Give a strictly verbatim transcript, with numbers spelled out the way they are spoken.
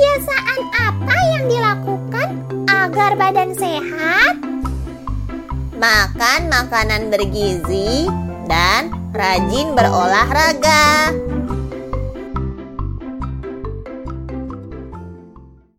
Kebiasaan apa yang dilakukan agar badan sehat? Makan makanan bergizi dan rajin berolahraga.